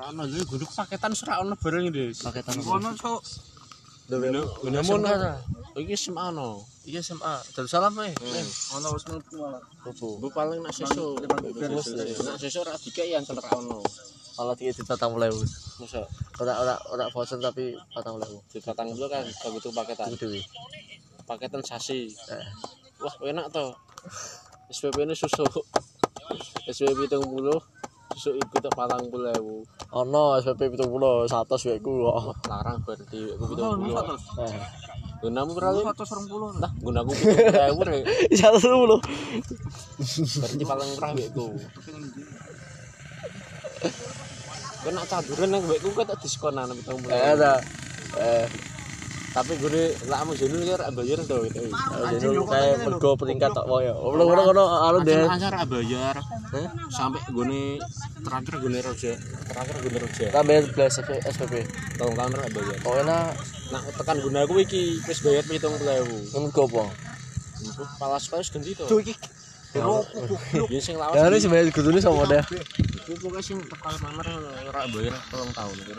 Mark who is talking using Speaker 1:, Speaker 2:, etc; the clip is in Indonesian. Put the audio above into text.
Speaker 1: Ono lho guduk paketan serak ono bareng iki.
Speaker 2: Paketan
Speaker 1: Ono sok.
Speaker 2: Gunamun iki SMA ono.
Speaker 3: Iya SMA. Darussalam ae.
Speaker 1: Ono wis mlebu malah.
Speaker 2: Bu paling nak sesuk. Nak sesuk ora dikek ya ora ono.
Speaker 3: Kalau 3.000.000.
Speaker 2: Mosok
Speaker 3: Ora voucher tapi 40.000.
Speaker 2: dibatang dulu kan begitu paketan.
Speaker 3: Dewi.
Speaker 2: Paketan sasi. Wah, enak to. SPP ini susu. SPP 70 susu iku tak 40.000.
Speaker 3: Ono SPP 70 100 wekku kok.
Speaker 2: Larang berarti iku 70. Gunamu berapa?
Speaker 1: 120.
Speaker 2: Nah, gunaku 70.000 rek.
Speaker 3: 110.
Speaker 2: Berarti paling murah wekku. Kena caduran nang wekku kok tak diskonan 70.000.
Speaker 3: Ada.
Speaker 2: Tapi gue lakmu jenul ya bayar to itu.
Speaker 3: Jadi kayak mergo peringkat tok wae. Ngono anu deh.
Speaker 2: Ancar bayar. Sampai gue terakhir gue roja.
Speaker 3: Tambah plus SPP.
Speaker 2: Tolong kamera bayar.
Speaker 3: Oh enak.
Speaker 2: Nah tekan guna aku iki wis bayar 70.000.
Speaker 3: Mergo apa?
Speaker 2: Palas ganti to.
Speaker 1: Iki.
Speaker 2: Ya sing lawas.
Speaker 3: Ya ini sebenarnya gudune sama deh.
Speaker 2: Iku pokoke sing tekan kamera ora bayar 3 tahun.